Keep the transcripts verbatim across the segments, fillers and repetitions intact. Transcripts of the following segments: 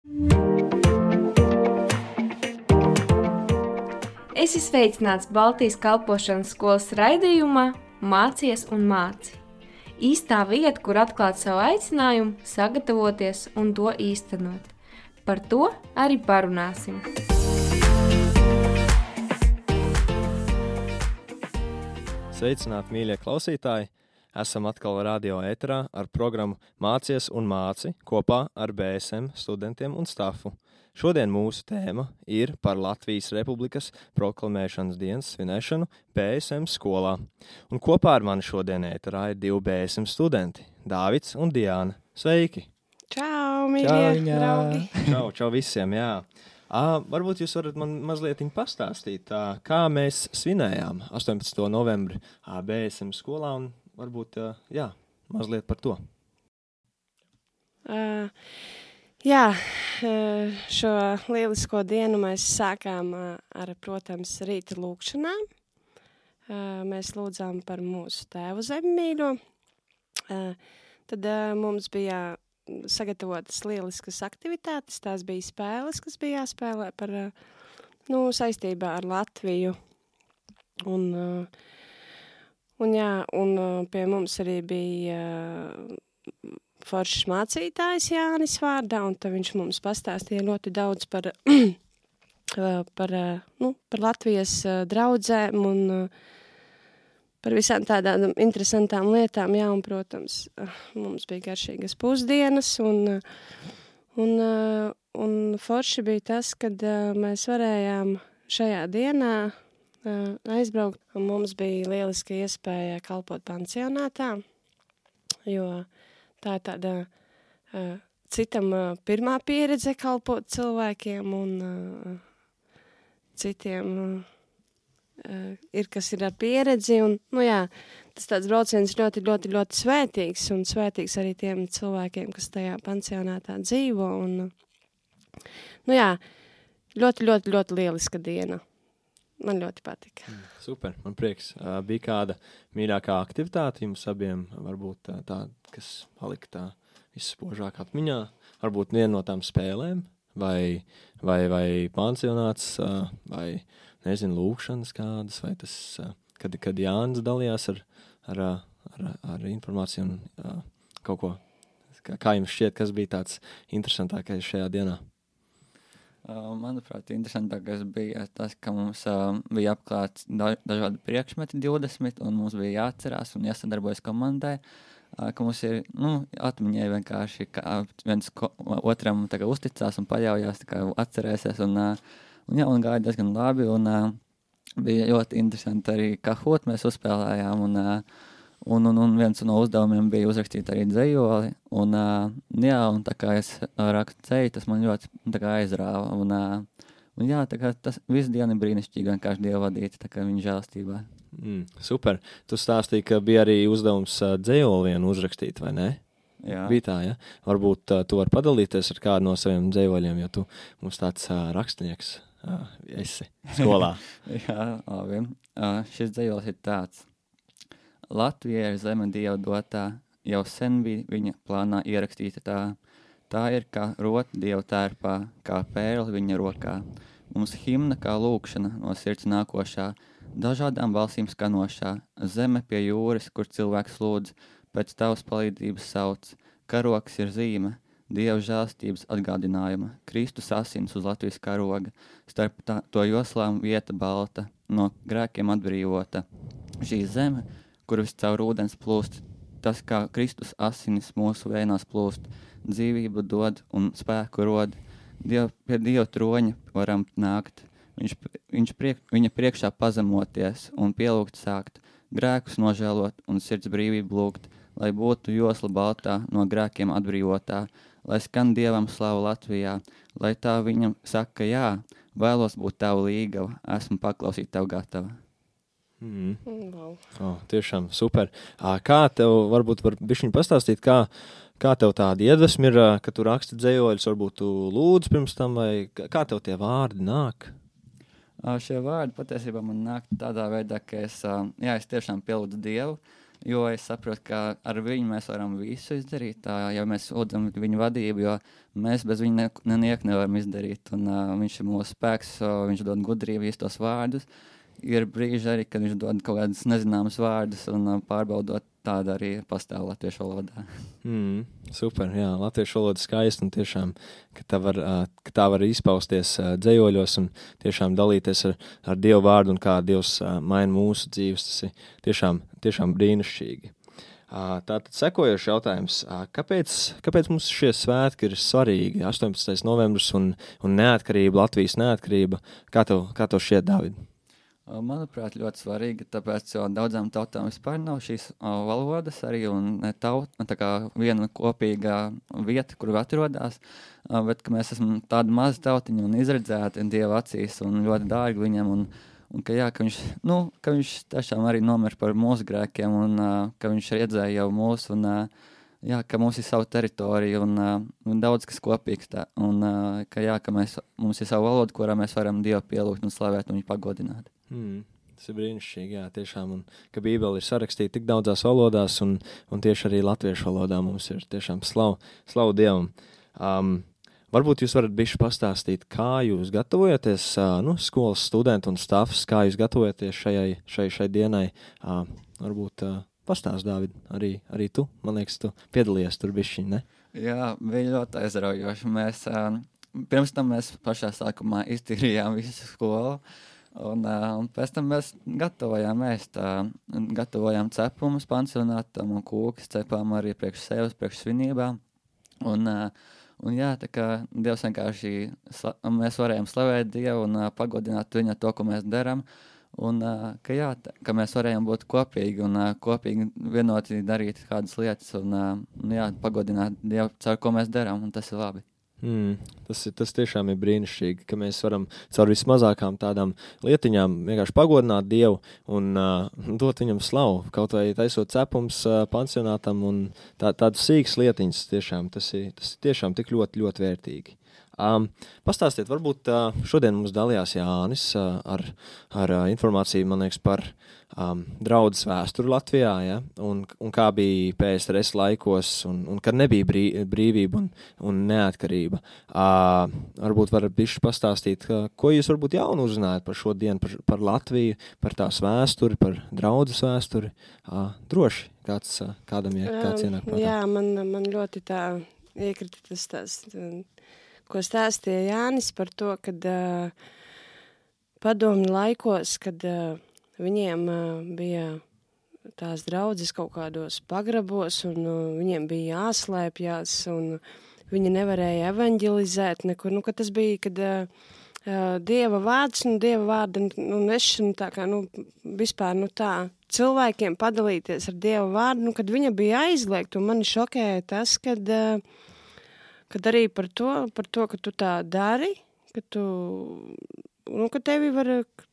Esi sveicināts Baltijas kalpošanas skolas raidījumā Mācies un māci. Īstā vieta, kur atklāt savu aicinājumu, sagatavoties un to īstenot. Par to arī parunāsim. Sveicināti, mīļie klausītāji! Esam atkal radio ēterā ar programmu Mācies un māci kopā ar B S M studentiem un stafu. Šodien mūsu tēma ir par Latvijas Republikas proklamēšanas dienas svinēšanu B S M skolā. Un kopā ar mani šodien ēterā ir divi B S M studenti – Dāvids un Diāna. Sveiki! Čau, mīļie draugi! Čau, čau visiem, jā! À, varbūt jūs varat man mazliet pastāstīt, tā, kā mēs svinējām astoņpadsmitā novembri B S M skolā un varbūt, jā, mazliet par to. Uh, jā, šo lielisko dienu mēs sākām ar, protams, rīta lūkšanām. Uh, mēs lūdzām par mūsu tēvu zemmīļo. Uh, tad uh, mums bija sagatavotas lieliskas aktivitātes, tās bija spēles, kas bija jāspēlē par, nu, saistībā ar Latviju. Un, un jā, un pie mums arī bija foršs mācītājs Jānis vārdā, un tad viņš mums pastāstīja ļoti daudz par, par, nu, par Latvijas draudzēm un par visām tādām interesantām lietām, jā, un, protams, mums bija garšīgas pusdienas, un, un, un forši bija tas, kad mēs varējām šajā dienā aizbraukt, un mums bija lieliska iespēja kalpot pansionātā, jo tā ir tāda citam pirmā pieredze kalpot cilvēkiem, un citiem Uh, ir, kas ir ar pieredzi, un, nu jā, tas tāds brauciens ļoti, ļoti, ļoti svētīgs, un svētīgs arī tiem cilvēkiem, kas tajā pansionātā dzīvo, un, nu jā, ļoti, ļoti, ļoti lieliska diena. Man ļoti patika. Mm, super, man prieks. Uh, bija kāda mīļākā aktivitāte jums abiem, varbūt tā, tā kas palika tā visspožāk atmiņā, varbūt viena no tām spēlēm, vai, vai, vai pansionāts, uh, vai nezinu, lūkšanas kādas, vai tas, kad, kad Jānis dalījās ar, ar, ar, ar informāciju un uh, kaut ko. Kā, kā jums šķiet, kas bija tāds interesantākais šajā dienā? Uh, manuprāt, interesantākais bija tas, ka mums uh, bija apklāts da- dažādi priekšmeti divdesmit, un mums bija jāatcerās un jāsadarbojas komandai, uh, ka mums ir, nu, atmiņai vienkārši, ka viens ko, otram tā kā uzticās un paļaujās, tā kā atcerēsies, un uh, Un, jā, un gāja diezgan labi, un uh, bija ļoti interesanti arī kahot mēs uzspēlējām, un, uh, un, un, un viens no uzdevumiem bija uzrakstīt arī dzejoli, un, uh, jā, un tā kā es rakstu dzeju, tas man ļoti tā kā aizrāva, un, uh, un jā, tā kā tas visu dienu brīnišķīgi vienkārši Dievu vadīt, tā kā viņa žēlstībā. Mm, super. Tu stāstīji, ka bija arī uzdevums uh, dzejoli vienu uzrakstīt, vai ne? Jā. Bija tā, ja? Varbūt uh, tu vari padalīties ar kādu no saviem dzejoļiem, jo tu mums tāds uh, rakstnieks uh, esi skolā. Jā, labi. Uh, šis dzejols ir tāds. Latvija ir zeme Dieva dotā, jau sen bija viņa plānā ierakstīta tā. Tā ir kā rota Dieva tērpā, kā pērle viņa rokā. Mums himna kā lūkšana no sirds nākošā, dažādām balsīm skanošā, zeme pie jūras, kur cilvēks lūdz, pēc tavas palīdzības sauc, karoks ir zīme, Dieva žēlstības atgādinājuma, Kristus asins uz Latvijas karoga, starp tā, to joslām vieta balta, no grēkiem atbrīvota. Šī zeme, kur vis caur ūdens plūst, tas kā Kristus asinis mūsu vēnās plūst, dzīvību dod un spēku rod, Diev, pie Dieva troņa varam nākt, viņš, viņš priek, viņa priekšā pazemoties un pielūgt sākt, grēkus nožēlot un sirds brīvību lūgt, lai būtu josla baltā, no grēkiem atbrīvotā, lai skan Dievam slavu Latvijā, lai tā viņam saka jā, vēlos būt tavu līgava, esmu paklausīt tev gatava. Mm. Wow. Oh, tiešām super. Kā tev, varbūt var bišķiņ pastāstīt, kā, kā tev tāda iedvesma ir, ka tu raksti dzejoļus, varbūt tu lūdz pirms tam, vai kā tev tie vārdi nāk? Šie vārdi patiesībā man nāk tādā veidā, ka es, jā, es tiešām pielūdzu Dievu, jo es saprotu, ka ar viņu mēs varam visu izdarīt, tā, ja mēs lūdzam viņu vadību, jo mēs bez viņa ne, nevienu nevaram izdarīt, un uh, viņš ir mūsu spēks, uh, viņš dod gudrību, īstos vārdus. Ir brīži arī, kad viņš dod kaut kādus nezināmus vārdus, un uh, pārbaudot tāda arī pastāv latviešu valodā. Mm, super, jā, latviešu valoda skaista un tiešām, ka tā var, uh, ka tā var izpausties uh, dzējoļos un tiešām dalīties ar, ar Dievu vārdu un kā Dievs uh, maina mūsu dzīves, tas ir tiešām, tiešām brīnišķīgi. Uh, tātad sekojošs jautājums, uh, kāpēc, kāpēc mums šie svētki ir svarīgi, astoņpadsmitais novembris un, un neatkarība, Latvijas neatkarība, kā tev, kā tev šķiet, Dāvid? Manuprāt, ļoti svarīgi, tāpēc, jo daudzām tautām vispār nav šīs o, valodas arī un taut, tā kā viena kopīga vieta, kur atrodas, o, bet ka mēs esam tādi mazi tautiņi un izredzēti Dieva acīs un ļoti dārgi viņam un, un ka, jā, ka, viņš, nu, ka viņš tiešām arī nomir par mūsu grēkiem un uh, ka viņš redzēja jau mūsu un uh, jā, ka mums ir savu teritoriju un, uh, un daudz kas kopīgs tā un uh, ka, jā, ka mēs, mums ir savu valodu, kurā mēs varam Dievu pielūgt un slavēt un viņu pagodināt. Mm, tas ir brīnišķīgi, jā, tiešām, un ka Bībele ir sarakstīta tik daudzās valodās, un, un tieši arī latviešu valodā mums ir tiešām slavu, slavu Dievam. Um, varbūt jūs varat bišķi pastāstīt, kā jūs gatavojaties, uh, nu, skolas studenti un stafs, kā jūs gatavojaties šajai, šai, šai dienai, uh, varbūt uh, pastāst, Dāvid, arī, arī tu, man liekas, tu piedalījies tur bišķiņ, ne? Jā, bija ļoti aizraujoši. Mēs, uh, pirms tam mēs pašā sākumā iztīrījām visu skolu, Un, uh, un pēc tam mēs gatavojām ēst, uh, gatavojām cepumus pansionātam un kūkas cepām arī priekš sevis, priekš svinībām. Un, uh, un jā, tā kā Dievs vienkārši, sla- mēs varējām slavēt Dievu un uh, pagodināt viņu to, ko mēs darām. Un uh, ka jā, tā, ka mēs varējām būt kopīgi un uh, kopīgi vienoti darīt kādas lietas un, uh, un jā, pagodināt Dievu, caur ko mēs darām, un tas ir labi. Mm, tas, ir, tas tiešām ir brīnišķīgi, ka mēs varam caur vismazākām tādām lietiņām vienkārši pagodināt Dievu un uh, dot viņam slavu, kaut vai taisot cepums uh, pansionātam un tā, tādas sīkas lietiņas tiešām, tas ir, tas ir tiešām tik ļoti, ļoti vērtīgi. Um, pastāstiet, varbūt uh, šodien mums dalījās Jānis uh, ar, ar uh, informāciju, man liekas, par um, draudzes vēsturi Latvijā, ja? un, un kā bija P S R S laikos, un, un kad nebija brī, brīvība un, un neatkarība. Uh, varbūt varat bišķi pastāstīt, uh, ko jūs varbūt jaunu uzzinājāt par šo dienu, par, par Latviju, par tās vēsturi, par draudzes vēsturi. Uh, droši, kāds, uh, kādam ir, kāds ienāk prātā. Jā, man, man ļoti tā iekrita tas tās... ko stāstīja Jānis par to, kad uh, padomju laikos, kad uh, viņiem uh, bija tās draudzes kaut kādos pagrabos, un uh, viņiem bija jāslēpjās, un viņi nevarēja evanģelizēt nekur. Nu, kad tas bija, kad uh, uh, Dieva vārds, nu, Dieva vārda, nu, nešana tā kā, nu, vispār, nu, tā, cilvēkiem padalīties ar Dieva vārdu, nu, kad viņa bija aizliegta, un mani šokēja tas, kad... Uh, Kad arī par to, par to, ka tu tā dari, ka tu, nu, ka tevi var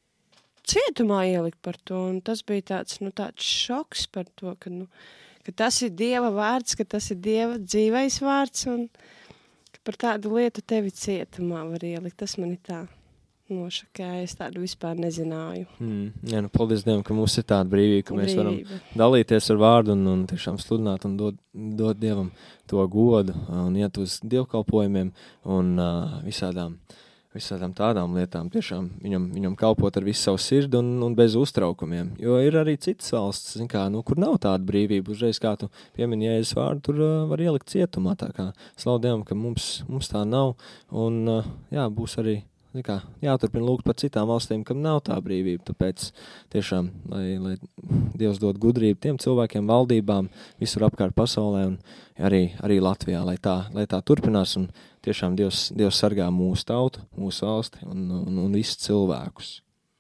cietumā ielikt par to, un tas bija tāds, nu, tāds šoks par to, ka, nu, ka tas ir Dieva vārds, ka tas ir Dieva dzīvais vārds, un ka par tādu lietu tevi cietumā var ielikt. Tas man ir tā nošakēja, es tādu vispār nezināju. Mm, jā, nu, paldies Dievam, ka mums ir tāda brīvība, ka mēs Brīvība. varam dalīties ar vārdu un, un tiešām sludināt un dot, dot Dievam to godu un iet uz dievkalpojumiem un uh, visādām, visādām tādām lietām. Tiešām viņam, viņam kalpot ar visu savu sirdi un, un bez uztraukumiem. Jo ir arī citas valsts, zin kā, nu, kur nav tāda brīvība. Uzreiz, kā tu piemini Jēzus vārdu, tur uh, var ielikt cietumā. Tā kā slavu Dievam, ka mums, mums tā nav un uh, jā, būs arī kā, jāturpina lūgt par citām valstīm, kam nav tā brīvība, tāpēc tiešām, lai, lai Dievs dod gudrību tiem cilvēkiem, valdībām, visur apkārt pasaulē un arī, arī Latvijā, lai tā, lai tā turpinās un tiešām Dievs, Dievs sargā mūsu tautu, mūsu valsti un, un, un visus cilvēkus.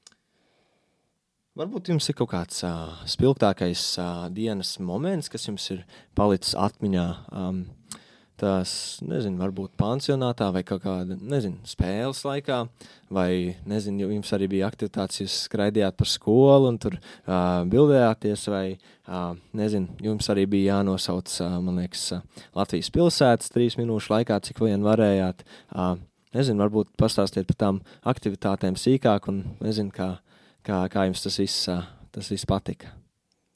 Varbūt jums ir kaut kāds uh, spilgtākais uh, dienas moments, kas jums ir palicis atmiņā, um, tās, nezinu, varbūt pansionātā vai kaut kāda, nezinu, spēles laikā, vai, nezinu, jums arī bija aktivitātes, jūs skraidījāt par skolu un tur uh, bildējāties, vai, uh, nezinu, jums arī bija jānosauc, uh, man liekas, uh, Latvijas pilsētas trīs minūšu laikā, cik vien varējāt. Uh, nezinu, varbūt pastāstiet par tām aktivitātēm sīkāk un, nezinu, kā, kā, kā jums tas viss, uh, tas viss patika.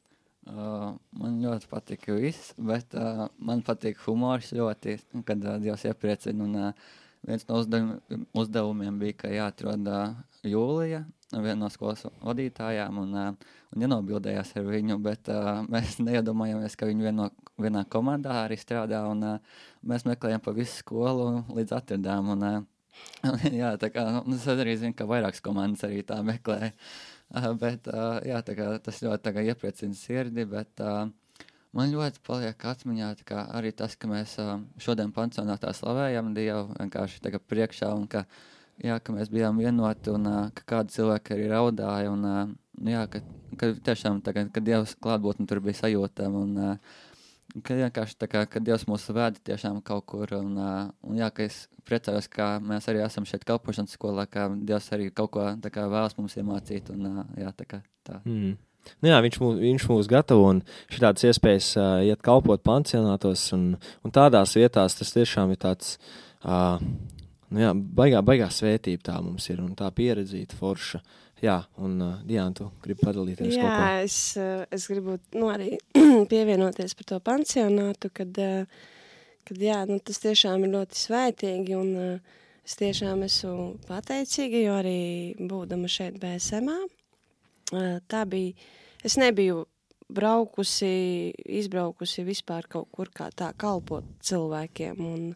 Uh, man ļoti patīk viss, bet uh, man patīk humors ļoti, kad uh, Dievs iepriecina. Un, uh, viens no uzdevumiem, uzdevumiem bija, ka jāatrod uh, Jūlija, viena no skolas vadītājām, un, uh, un jānobildējās ar viņu, bet uh, mēs neiedomājamies, ka viņi vieno, vienā komandā arī strādā, un uh, mēs meklējam pa visu skolu līdz atradām. Un, uh, jā, tā kā, nu, es arī zinu, ka vairākas komandas arī tā meklē. Uh, bet, uh, jā, tā kā tas ļoti tā kā iepriecina sirdi, bet uh, man ļoti paliek atmiņā tā kā arī tas, ka mēs uh, šodien pansionātā slavējam Dievu vienkārši tā kā priekšā, un ka, jā, ka mēs bijām vienoti, un uh, ka kādi cilvēki arī raudāja, un uh, jā, ka, ka tiešām tā kā, ka Dievs klātbūtne tur bija sajūtama, un uh, ka vienkārši tā kā, ka Dievs mūs vēda tiešām kaut kur, un, uh, un jā, ka es priecājos, ka mēs arī esam šeit kalpošanas skolā, ka Dievs arī kaut ko tā kā vēlas mums iemācīt, un uh, jā, tā kā tā. Mm. Nu jā, viņš mūs, viņš mūs gatavo, un šitādas iespējas uh, iet kalpot pansionātos, un, un tādās vietās tas tiešām ir tāds, uh, nu jā, baigā, baigā svētība tā mums ir, un tā pieredzīta forša. Jā, un uh, Diana, tu gribi padalīties Jā, kaut ko? es, es gribu nu, arī pievienoties par to pansionātu, kad, kad jā, nu, tas tiešām ir ļoti svētīgi, un uh, es tiešām esmu pateicīga, jo arī būdama šeit B S M-ā, uh, tā bija, es nebiju braukusi, izbraukusi vispār kaut kur kā tā kalpot cilvēkiem, un,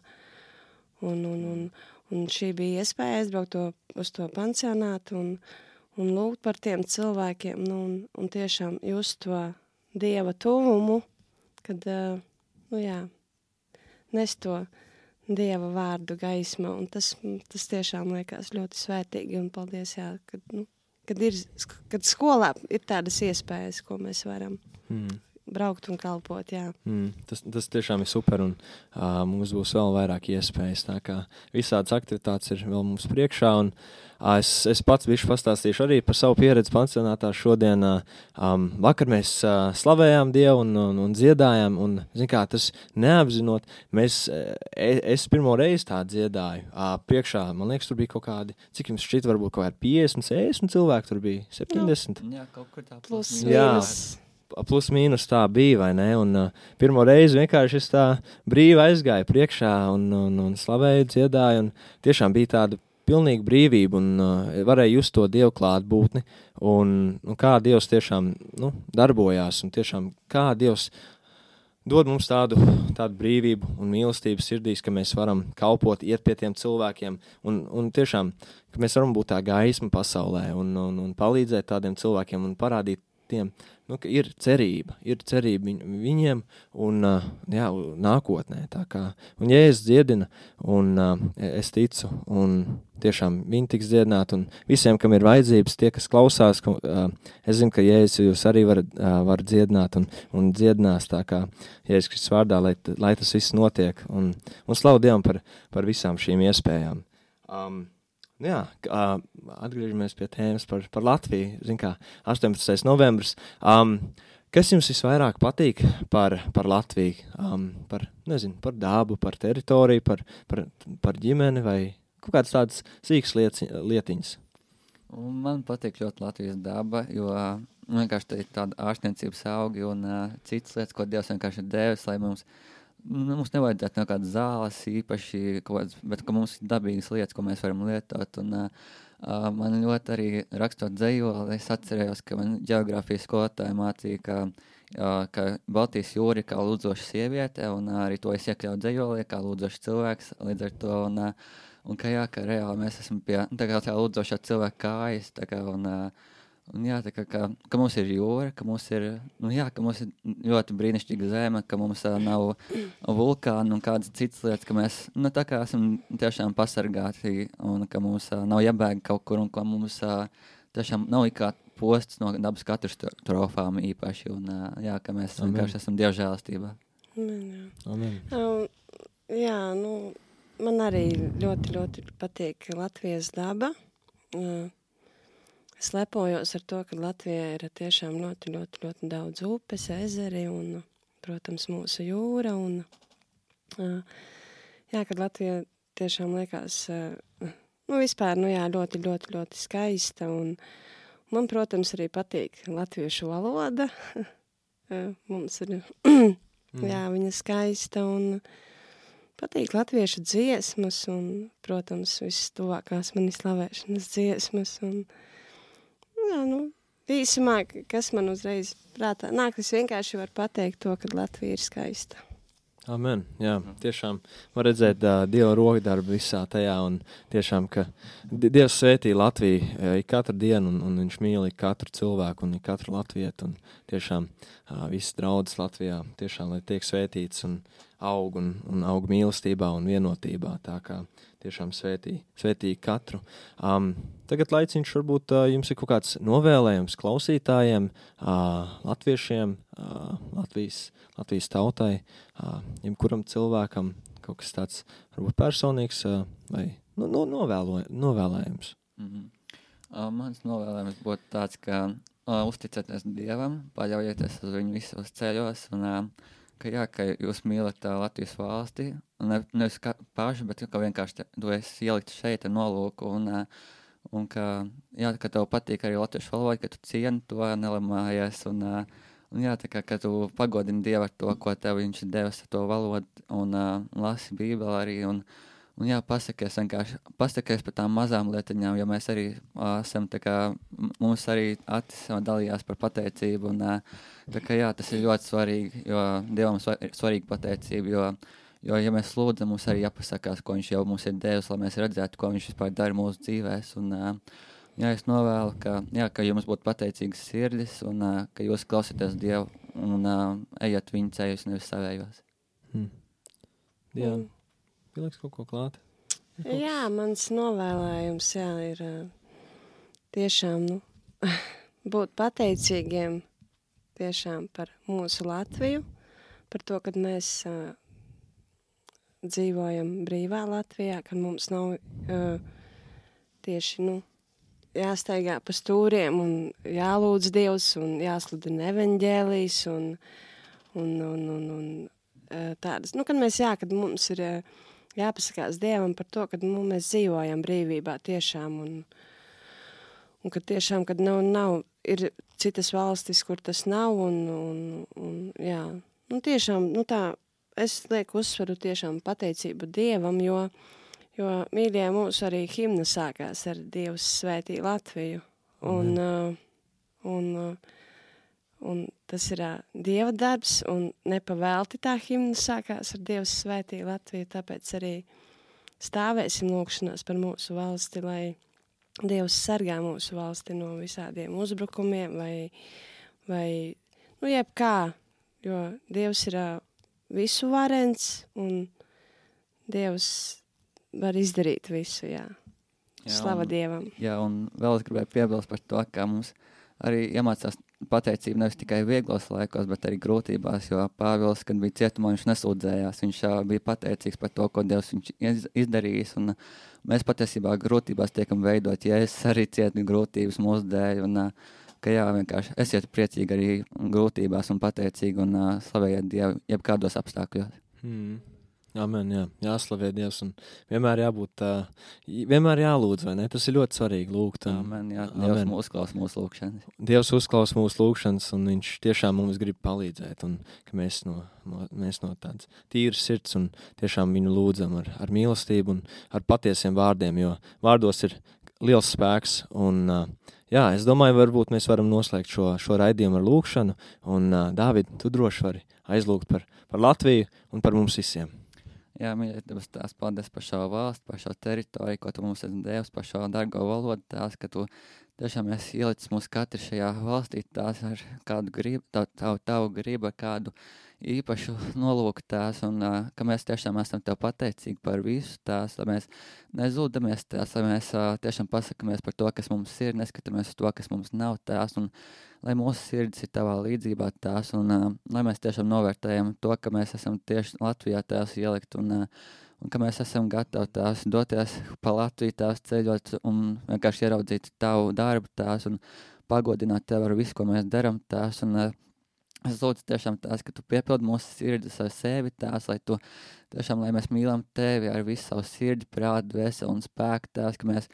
un, un, un, un šī bija iespēja aizbraukt to, uz to pansionātu, un un lūgt par tiem cilvēkiem, nu, un, un tiešām just to Dieva tuvumu, kad, uh, nu jā, nes to Dieva vārdu gaisma, un tas, tas tiešām liekas ļoti svētīgi, un paldies, jā, kad, nu, kad, ir, kad skolā ir tādas iespējas, ko mēs varam mm. braukt un kalpot, jā. Mm, tas, tas tiešām ir super, un uh, mums būs vēl vairāk iespējas, tā kā visādas aktivitātes ir vēl mums priekšā, un uh, es, es pats bišķi pastāstīšu arī par savu pieredzi pansionātā šodien. Uh, um, vakar mēs uh, slavējām Dievu un, un, un dziedājām, un, zin kā, tas neapzinot, mēs, es, es pirmo reizi tā dziedāju, uh, priekšā, man liekas, tur bija kaut kādi, cik jums šķiet, varbūt kaut kādi piecdesmit, sešdesmit cilvēki, tur bija septiņdesmit. Jā, kaut kur tā plus mīnus. Plus mīnus tā bija, vai ne? Un uh, pirmo reizi vienkārši es tā brīvi aizgāju priekšā un, un, un slavēju, dziedāju, un tiešām bija tāda pilnīga brīvība, un uh, varēja just to Dievu klātbūtni, un, un kā Dievs tiešām nu, darbojās, un tiešām kā Dievs dod mums tādu, tādu brīvību un mīlestību sirdīs, ka mēs varam kalpot, iet pie tiem cilvēkiem, un, un tiešām, ka mēs varam būt tā gaisma pasaulē, un, un, un palīdzēt tādiem cilvēkiem, un parādīt tiem, nu, ka ir cerība, ir cerība viņ, viņiem un uh, jā, nākotnē, tā kā, un Jēzus dziedina, un uh, es ticu, un tiešām viņi tiks dziedināti, un visiem, kam ir vajadzības, tie, kas klausās, ka, uh, es zinu, ka Jēzus jūs arī var, uh, var dziedināt un, un dziedinās, tā kā Jēzus Kristus vārdā, lai, lai tas viss notiek, un, un slavu Dievam par, par visām šīm iespējām. Um, Jā, atgriežamies pie tēmas par, par Latviju. Zin kā, astoņpadsmitais novembris. Um, kas jums visvairāk patīk par, par Latviju? Um, par, nezinu, par dabu, par teritoriju, par, par, par ģimeni vai kaut kādas tādas sīkas lieti, lietiņas? Man patīk ļoti Latvijas daba, jo vienkārši tā ir tāda ārstniecības augi un uh, citas lietas, ko Dievs vienkārši ir devis, lai mums Mums nevajadzētu no kādas zāles īpaši, kāds, bet ka mums ir dabīgas lietas, ko mēs varam lietot. Un, uh, man ļoti arī rakstot dzejoli, es atcerējos, ka man ģeogrāfijas skolotāja mācīja, ka, uh, ka Baltijas jūra ir kā lūdzoša sieviete, un uh, arī to es iekļauju dzejolī, kā lūdzošs cilvēks līdz ar to. Un, uh, un ka jā, ka reāli mēs esam pie tā kā tā lūdzošā cilvēka kājas, tā kā, un, uh, Un jā, tā kā, ka, ka mums ir jūra, ka mums ir, nu jā, ka mums ir ļoti brīnišķīga zeme, ka mums uh, nav vulkāni un kādas citas lietas, ka mēs, nu tā kā esam tiešām pasargāti un ka mums uh, nav jābēg kaut kur un ka mums uh, tiešām nav ikā posts no dabas katastrofām īpaši un uh, jā, ka mēs Amen. vienkārši esam dievžēlastībā. Amen, jā. Amen. Um, jā, nu, man arī ļoti, ļoti patīk Latvijas daba. Uh, Es lepojos ar to, ka Latvijā ir tiešām ļoti, ļoti, ļoti daudz upes, ezeri un, protams, mūsu jūra. Un, jā, kad Latvija tiešām liekas, nu, vispār, nu jā, ļoti, ļoti, ļoti skaista. Un man, protams, arī patīk latviešu valoda. uh, mums ir, jā, viņa skaista un patīk latviešu dziesmas un, protams, visas tuvākās mani slavēšanas dziesmas un, jā, nu, īsumā, kas man uzreiz prātā nāk, es vienkārši varu pateikt to, ka Latvija ir skaista. Amen, jā, tiešām var redzēt uh, Dieva rokdarbu visā tajā un tiešām, ka Dievs svētī Latviju uh, katru dienu un, un viņš mīl katru cilvēku un katru latvietu un tiešām uh, visas draudzes Latvijā tiešām, lai tiek svētīts un aug un, un aug mīlestībā un vienotībā, tā kā tiešām svētī, svētī katru. Um, tagad laiciņš varbūt uh, jums ir kaut kāds novēlējums klausītājiem, uh, latviešiem, uh, Latvijas, Latvijas tautai, uh, jebkuram cilvēkam kaut kas tāds varbūt personīgs uh, vai nu, nu, novēlo, novēlējums. Mm-hmm. Uh, mans novēlējums būtu tāds, ka uh, uzticēties Dievam, paļaujieties uz viņu visos ceļos un uh, ka jā, ka jūs mīlat tā Latvijas valsti, un ne, nevis kā paši, bet ka vienkārši tu esi ielikt šeit ar nolūku, un, un ka, jā, ka tev patīk arī latviešu valoda, ka tu cieni to, nelamājies, un, un jā, tā kā, ka tu pagodini Dievu ar to, ko tev viņš ir devis ar to valodu, un uh, lasi Bībeli arī, un, un jā, pasakies vienkārši, pasakies par tām mazām lietiņām, jo mēs arī uh, esam, tā kā, mums arī Atis dalījās par pateicību, un uh, tā kā jā, tas ir ļoti svarīgi, jo Dievam ir svarīga pateicība, jo, jo ja mēs lūdzam, mums arī jāpasakās, ko viņš jau mums ir devis, lai mēs redzētu, ko viņš vispār dara mūsu dzīvēs, un uh, jā, es novēlu, ka, jā, ka jums būtu pateicīgas sirdis, un uh, ka jūs klausieties Dievu, un uh, ejat viņa ceļus, nevis savējos. Hmm. Jā. Mm. Pieliks kaut ko klāt? Kaut jā, mans novēlējums, jā, ir tiešām, nu, būt pateicīgiem tiešām par mūsu Latviju, par to, kad mēs uh, dzīvojam brīvā Latvijā, kad mums nav uh, tieši, nu, jāstaigā pa stūriem un jālūdz Dievs un jāsludina evaņģēlijs un, un, un, un, un uh, tādas, nu, kad mēs, jā, kad mums ir uh, jāpasakās Dievam par to, kad nu, mēs dzīvojam brīvībā tiešām un, un kad tiešām, kad nav, nav, ir citas valstis, kur tas nav un, un, un jā, nu tiešām, nu tā, es lieku uzsvaru tiešām pateicību Dievam, jo, jo mīļie mūsu arī himna sākās ar Dievs svētī Latviju un, mm. uh, un, uh, un tas ir uh, Dieva darbs, un nepavēlti tā himna sākās ar Dievs svētī Latviju, tāpēc arī stāvēsim lūkšanās par mūsu valsti, lai Dievs sargā mūsu valsti no visādiem uzbrukumiem vai, vai nu, jebkā, jo Dievs ir uh, visu varens, un Dievs var izdarīt visu, jā. jā Slava un, Dievam. Jā, un vēl es gribēju piebilst par to, ka mums arī iemācās pateicību nevis tikai vieglos laikos, bet arī grūtībās, jo Pāvils, kad bija cietumā, viņš nesūdzējās, viņš uh, bija pateicīgs par to, ko Dievs viņš iz, izdarījis, un uh, mēs patiesībā grūtībās tiekam veidot, ja es arī cietu grūtības mūsu dēļ, un uh, ka jā, vienkārši esiet priecīgi arī grūtībās un pateicīgi un uh, slavējiet Dievu jebkādos apstākļos. Hmm. Amen, jā, jāslavē Dievs un vienmēr jābūt, uh, vienmēr jālūdz, vai ne? Tas ir ļoti svarīgi lūgt. Un, amen, jā, Dievs amen. Uzklaus mūsu lūgšanas. Dievs uzklaus mūsu lūgšanas un viņš tiešām mums grib palīdzēt un ka mēs no, no, mēs no tādas tīras sirds un tiešām viņu lūdzam ar, ar mīlestību un ar patiesiem vārdiem, jo vārdos ir liels spēks un uh, jā, es domāju, varbūt mēs varam noslēgt šo, šo raidījumu ar lūgšanu un uh, Dāvid, tu droši vari aizlūgt par, par Latviju un par mums visiem. Jā, mīļie, Dievs, tās paldies par šo valstu, par šo teritoriju, ko tu mums esi devis, par šo dargo valodu, tās, ka tu tiešām esi ielicis mūs katru šajā valstī, tās ar kādu gribu, tavu, tavu, tavu gribu, ar kādu īpašu nolūku tās, un uh, ka mēs tiešām esam tev pateicīgi par visu tās, lai mēs nezūdamies tās, lai mēs uh, tiešām pasakamies par to, kas mums ir, neskatāmies uz to, kas mums nav tās, un lai mūsu sirds ir tavā līdzībā tās, un uh, lai mēs tiešām novērtējam to, ka mēs esam tieši Latvijā tās ielikt, un, uh, un ka mēs esam gatavi tās doties pa Latviju tās ceļot, un vienkārši ieraudzīt tavu darbu tās, un pagodināt tev ar visu, ko mēs daram tās, un uh, es lūdzu tiešām tās, ka tu piepildi mūsu sirdis ar sevi tās, lai tu tiešām, lai mēs mīlam tevi ar visu savu sirdi, prātu, dvēseli un spēku tās, ka mēs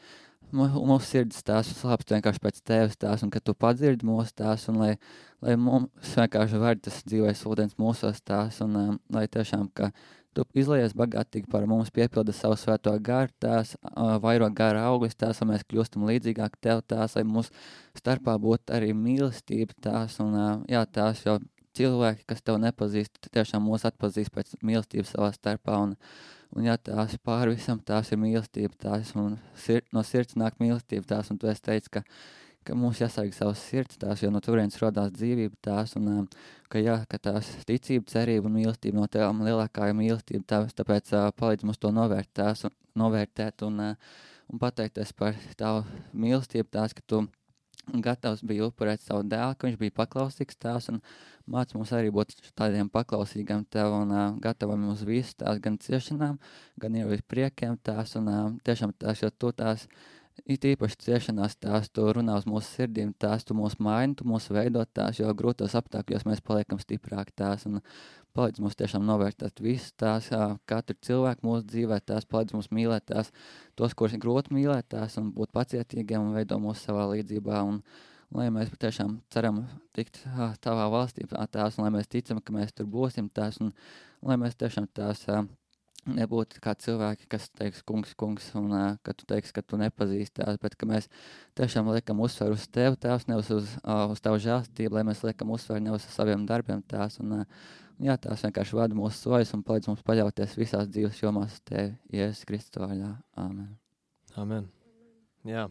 mūsu sirds tās slāpst vienkārši pēc tevis tās, un ka tu padzirdi mūsu tās, un lai, lai mums vienkārši var tas dzīvais ūdens mūsos tās, un um, lai tiešām, ka tu izlaies bagātīgi par mums, piepilda savu svēto garu tās, uh, vairo gara auglis tās, lai mēs kļūstam līdzīgāk tev tās, lai mūsu starpā būtu arī mīlestība tās, un uh, jā, tās jau cilvēki, kas tev nepazīst, tiešām mūs atpazīst pēc mīlestības savā starpā, un Un jā, tās pāri visam tās ir mīlestība tās, un sir, no sirds nāk mīlestība tās, un tu esi teicis, ka, ka mums jāsarg savas sirds tās, jo no turienes rodās dzīvība tās, un ka jā, ka tās ticība, cerība un mīlestība no tevām lielākā ir mīlestība tās, tāpēc uh, palīdz mums to novērt tās, un, novērtēt un, uh, un pateikties par tavu mīlestību tās, ka tu gatavs bija upurēt savu dēlu, ka viņš bija paklausīgs tās, un māc mums arī būt tādiem paklausīgiem tev un uh, gatavam uz visu tās, gan ciešanām, gan jau uz priekiem tās, un uh, tiešām tās, jo tu tās, it īpaši ciešanās tās, tu runā uz mūsu sirdīm tās, tu mūs maini, tu mūs veidot tās, jo grūtos apstākļos mēs paliekam stiprāk tās, un palīdz mums tiešām novērtēt visu tās, uh, katru cilvēku mūsu dzīvē tās, palīdz mums mīlēt tās, tos, kurus ir grūti mīlēt tās, un būt pacietīgiem un veido mūsu savā līdzībā, un lai mēs tiešām ceram tikt uh, tavā valstī tās, un lai mēs ticam, ka mēs tur būsim tās, un lai mēs tiešām tās uh, nebūtu kā cilvēki, kas teiks kungs, kungs, un uh, ka tu teiks, ka tu nepazīsti tās, bet ka mēs tiešām liekam uzsvaru uz tevi tās, nevis uz, uh, uz tavu žēlstību, lai mēs liekam uzsvaru nevis uz saviem darbiem tās, un uh, jā, tās vienkārši vada mūsu sojas un palīdz mums paļauties visās dzīves jomās uz tevi, Jēzus Kristus vārdā. Āmen. Amen. Jā.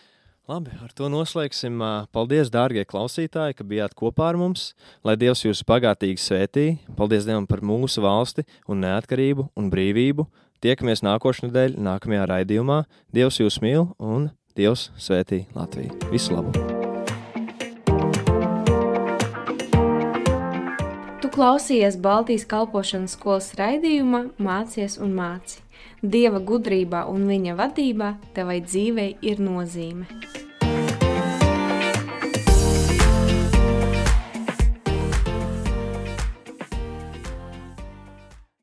Labi, ar to noslēgsim. Paldies, dārgie klausītāji, ka bijāt kopā ar mums. Lai Dievs jūs bagātīgi svētī. Paldies Dievam par mūsu valsti un neatkarību un brīvību. Tiekamies nākošnedēļ, nākamajā raidījumā. Dievs jūs mīl un Dievs svētī Latviju. Visu labu! Tu klausījies Baltijas kalpošanas skolas raidījumā Mācies un māci. Dieva gudrībā un viņa vadībā tevai dzīvei ir nozīme.